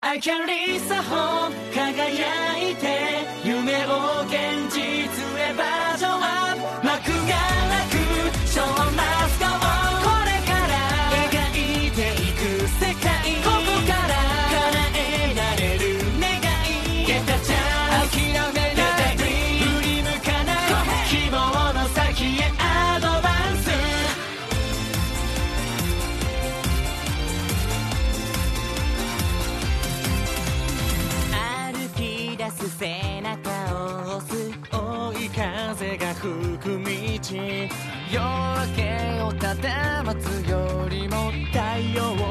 I can reach the home 輝いて夢を現実へバージョンアップ幕がなく Show must go on これから描いていく世界ここから叶えられる願い Get the chance 諦めない振り向かない希望の先へアドバンス歩き出す背中を押す追い風が吹く道夜明けをただ待つよりも太陽を